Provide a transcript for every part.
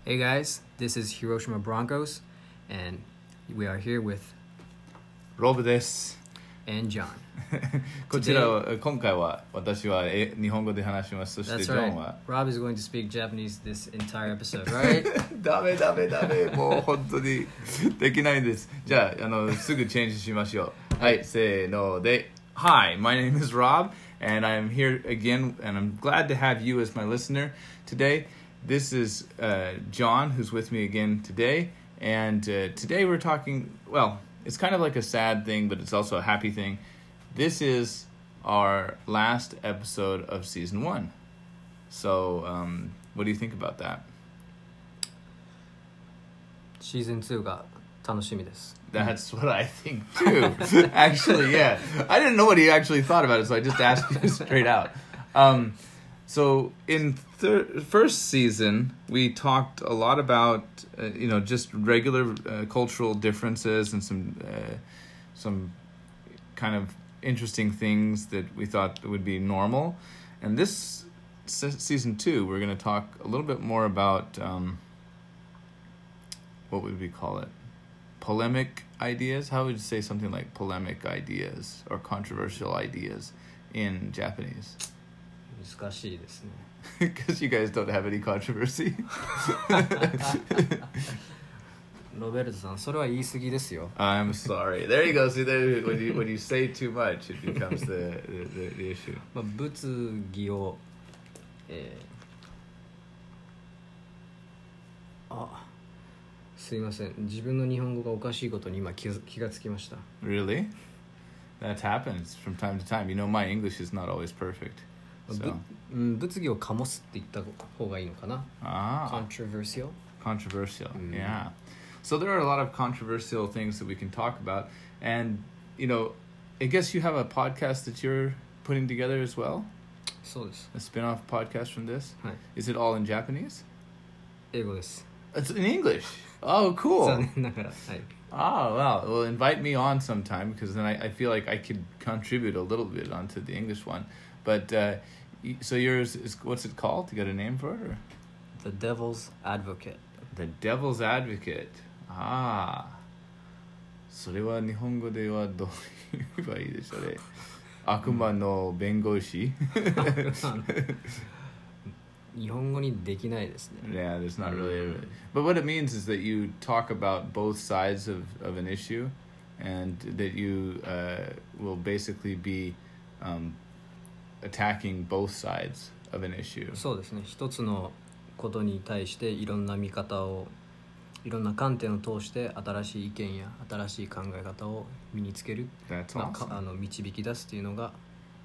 Hey guys, this is Hiroshima Broncos, and we are here with ロブです。 and John. こちらは今回は私は日本語で話します。そして That's ジョ right. ンは Rob is going to speak Japanese this entire episode, right? ダメもう本当にできないんです。じゃあすぐチェンジしましょう。はい、せーので Hi, my name is Rob and I'm here again and I'm glad to have you as my listener today. This is John who's with me again today, and today we're talking, well, it's kind of like a sad thing, but it's also a happy thing. This is our last episode of season 1. So, what do you think about that? Season 2が楽しみです。 That's what I think too. Actually, yeah. I didn't know what he actually thought about it, so I just asked you straight out. So in first season, we talked a lot about just regular cultural differences and some kind of interesting things that we thought would be normal. And this season 2, we're going to talk a little bit more about what would we call it? Polemic ideas? How would you say something like polemic ideas or controversial ideas in Japanese? 難しいですね。 Because you guys don't have any controversy. ロベルトさん、それは言い過ぎですよ。 I'm sorry. There you go. See, there, when you say too much, it becomes the issue. まあ、物議を、すいません。自分の日本語がおかしいことに今気がつきました。 Really? That happens from time to time. You know, my English is not always perfect. So. 物議を醸すって言った方がいいのかな。 Controversial. Controversial, yeah. So there are a lot of controversial things that we can talk about. And, I guess you have a podcast that you're putting together as well? そうです。 A spin-off podcast from this? はい。 Is it all in Japanese? 英語です。 It's in English. Oh, cool. 残念ながら。はい。 Oh, well, invite me on sometime because then I feel like I could contribute a little bit onto the English one. But, so yours is, what's it called? You got a name for it? Or? The Devil's Advocate. The Devil's Advocate. それは日本語ではどう言えばいいでしょうね。悪魔の弁護士。 日本語にできないですね。 Yeah, there's not really. But what it means is that you talk about both sides of an issue, and that you will basically be attacking both sides of an issue. そうですね。一つのことに対していろんな見方を、いろんな観点を通して新しい意見や新しい考え方を身につける、 That's awesome. 導き出すというのが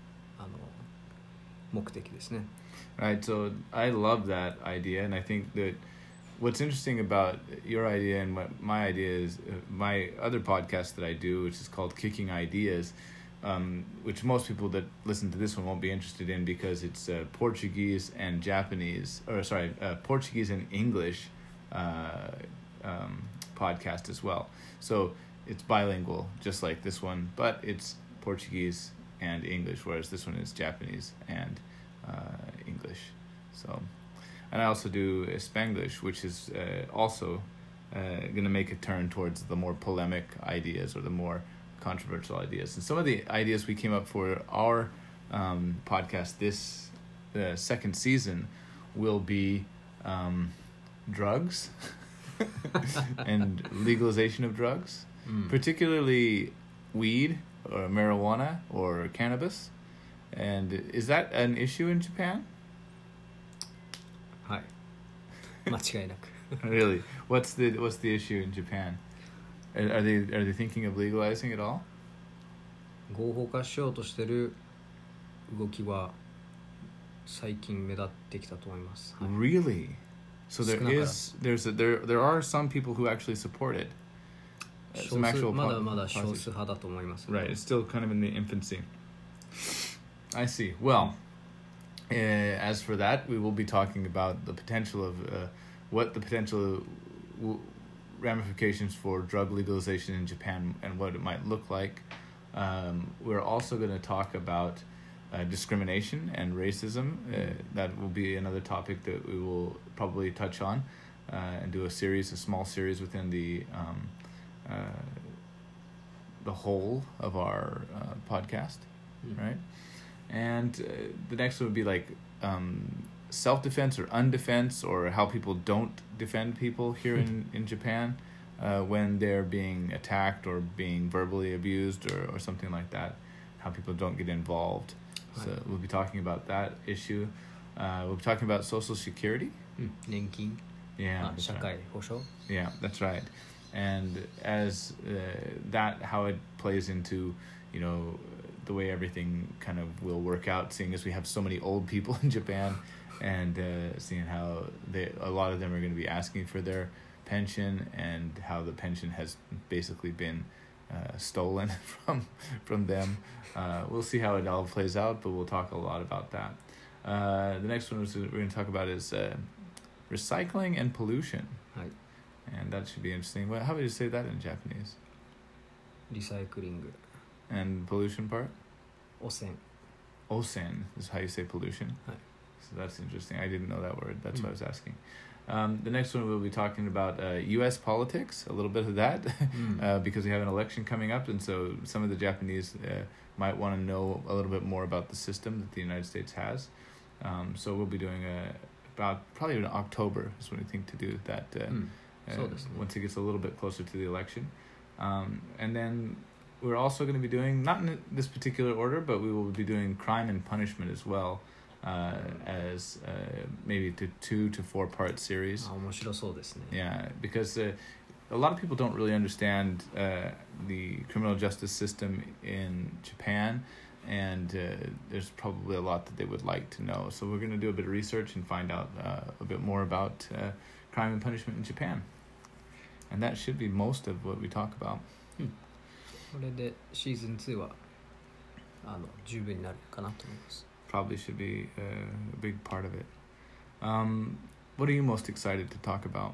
目的ですね。 Right, so I love that idea, and I think that what's interesting about your idea and what my idea is, my other podcast that I do, which is called Kicking Ideas, which most people that listen to this one won't be interested in because it's Portuguese and Japanese, Portuguese and English podcast as well. So it's bilingual, just like this one, but it's Portuguese and English, whereas this one is Japanese and English. So, and I also do Spanglish, which is also going to make a turn towards the more polemic ideas or the more controversial ideas. And some of the ideas we came up for our podcast this second season will be drugs and legalization of drugs, particularly weed or marijuana or cannabis. And is that an issue in Japan? はい。間違いなく。 Really? What's the issue in Japan? Are they thinking of legalizing it all? 合法化しようとしてる動きは最近目立ってきたと思います。はい。 Really? So there are some people who actually support it. 少数、まだまだ少数派だと思います。 Right, it's still kind of in the infancy. I see. Well, as for that, we will be talking about the potential of what the potential ramifications for drug legalization in Japan and what it might look like. We're also going to talk about discrimination and racism. That will be another topic that we will probably touch on. and do a small series within the whole of our podcast, right? And the next one would be like self-defense or undefense, or how people don't defend people here in Japan when they're being attacked or being verbally abused or something like that, how people don't get involved. So we'll be talking about that issue. We'll be talking about Social Security. 年金 Yeah, that's 社 right. 会保障 Yeah, that's right. And as that, how it plays into, you know, the way everything kind of will work out, seeing as we have so many old people in Japan, and seeing how a lot of them are going to be asking for their pension, and how the pension has basically been stolen from them. We'll see how it all plays out, but we'll talk a lot about that. The next one we're going to talk about is recycling and pollution. はい And that should be interesting. Well, how would you say that in Japanese? リサイクリング And pollution part? 汚染 Osen is how you say pollution. Right. So that's interesting. I didn't know that word. That's why I was asking. The next one we'll be talking about U.S. politics, a little bit of that, because we have an election coming up, and so some of the Japanese might want to know a little bit more about the system that the United States has. So we'll be doing about probably in October is when we think to do that. Once it gets a little bit closer to the election. And then we're also going to be doing, not in this particular order, but we will be doing crime and punishment as well, as maybe 2 to 4 part series. 面白そうですね Yeah, because a lot of people don't really understand the criminal justice system in Japan, and there's probably a lot that they would like to know. So we're going to do a bit of research and find out a bit more about crime and punishment in Japan. And that should be most of what we talk about. これでシーズン2は十分になるかなと思います Probably should be a big part of it. What are you most excited to talk about?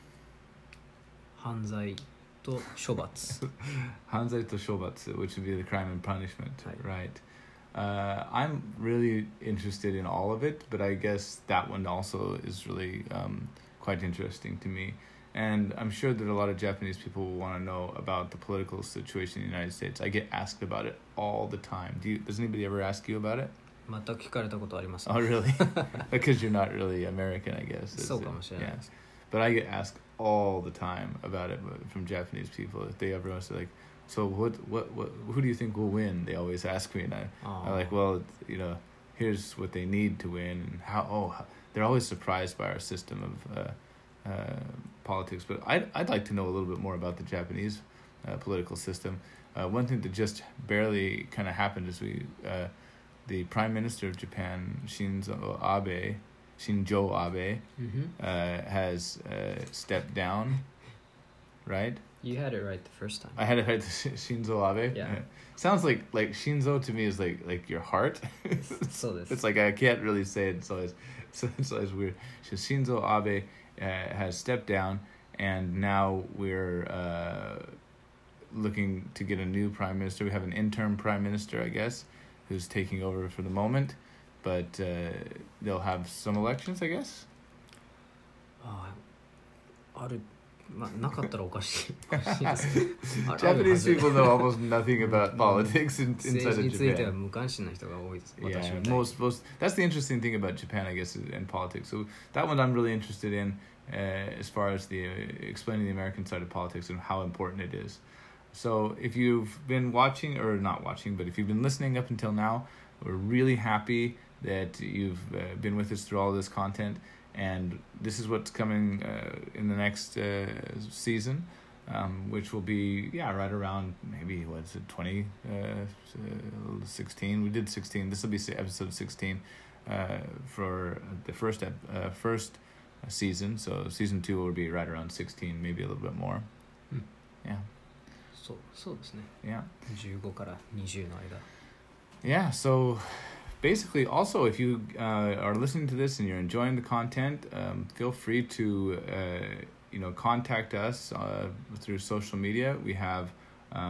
犯罪と処罰 Hanzai to Shobatsu, which would be the crime and punishment, Right. right? I'm really interested in all of it, but I guess that one also is really quite interesting to me. And I'm sure that a lot of Japanese people will want to know about the political situation in the United States. I get asked about it all the time. Does anybody ever ask you about it? 全く聞かれたことありません Oh, really? Because you're not really American, I guess. そうかもしれない Yes. But I get asked all the time about it from Japanese people. If they ever want to say, like, so what, who do you think will win? They always ask me, and I'm like, well, you know, here's what they need to win, and how they're always surprised by our system of politics. But I'd like to know a little bit more about the Japanese political system. One thing that just barely kind of happened is the Prime Minister of Japan, Shinzo Abe, has stepped down, right? You had it right the first time I had it right, Shinzo Abe. Yeah. Sounds like Shinzo to me is like your heart. そうです It's like I can't really say it, so it's always weird. So Shinzo Abe has stepped down, and now we're looking to get a new prime minister. We have an interim prime minister, I guess, who's taking over for the moment, but they'll have some elections, I guess. あるなかったらおかしいおかしいです Japanese people know almost nothing about politics inside 政 of 治については Japan. 無関心な人が多いです Yeah, 私みたいに most that's the interesting thing about Japan, I guess, and politics. So that one I'm really interested in, as far as the explaining the American side of politics and how important it is. So if you've been watching, or not watching, but if you've been listening up until now, we're really happy that you've been with us through all this content. And this is what's coming in the next season, which will be, right around maybe, 16? We did 16. This will be episode 16 for the first season. So season 2 will be right around 16, maybe a little bit more. Yeah. そうですね Yeah. 15から20の間 Yeah, so basically, also, if you are listening to this and you're enjoying the content, feel free to contact us through social media. We have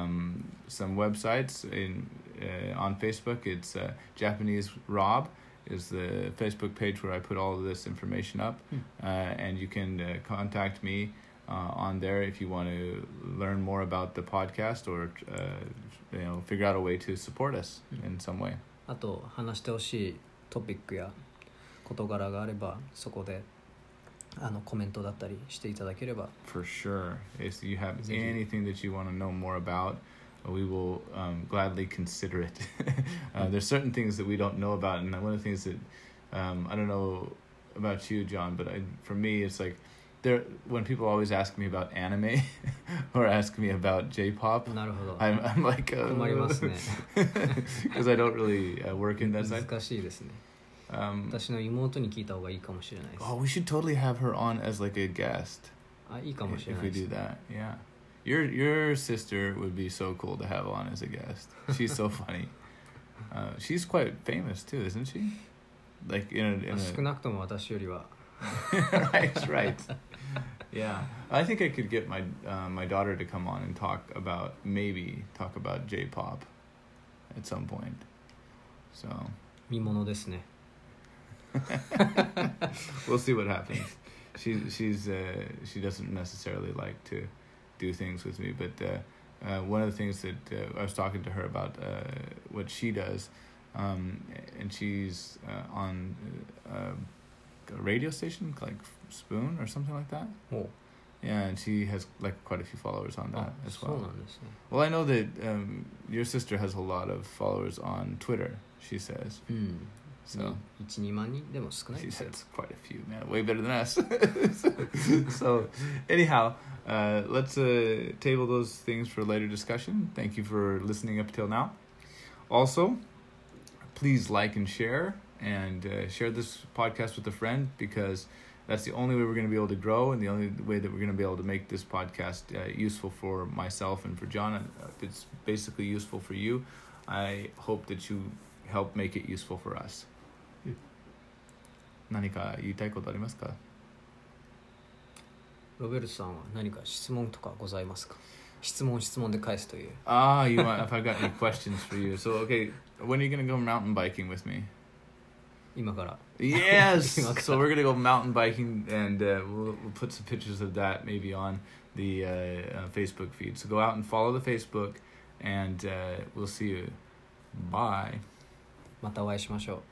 some websites on Facebook. It's Japanese Rob is the Facebook page where I put all of this information up, and you can contact me on there if you want to learn more about the podcast or figure out a way to support us in some way. あと話してほしいトピックや事柄があればそこでコメントだったりしていただければ For sure. If you have anything that you want to know more about, we will gladly consider it. There's certain things that we don't know about, and one of the things that I don't know about you, John, but for me, it's like when people always ask me about anime or ask me about J-pop, なるほど I'm like 困りますね because I don't really work in that side. 難しいですね、私の妹に聞いた方がいいかもしれないです Oh, we should totally have her on as like a guest. いいかもしれ If ない we です do that, yeah. Your sister would be so cool to have on as a guest. She's so funny. She's quite famous too, isn't she? Like in a 少なくとも私よりは right. Yeah, I think I could get my my daughter to come on and talk about J-pop at some point. So 見物ですね we'll see what happens. She doesn't necessarily like to do things with me, but one of the things that I was talking to her about what she does, and she's on a radio station like Spoon or something like that. Oh. Yeah, and she has like quite a few followers on that as そう well. なんですね Well, I know that your sister has a lot of followers on Twitter, she says. うん So 1-2万人でも少ない she ですよ says quite a few, man. Way better than us. So, anyhow, let's table those things for later discussion. Thank you for listening up till now. Also, please like and share this podcast with a friend, because that's the only way we're going to be able to grow, and the only way that we're going to be able to make this podcast useful for myself and for John. If it's basically useful for you, I hope that you help make it useful for us. 何か言いたいことありますか？ ロベルトさんは何か質問とかございますか？質問で返すという You want, if I've got any questions for you. So, okay, when are you going to go mountain biking with me? 今から Yes! So we're going to go mountain biking, and we'll put some pictures of that maybe on the Facebook feed. So go out and follow the Facebook, and we'll see you. Bye. またお会いしましょう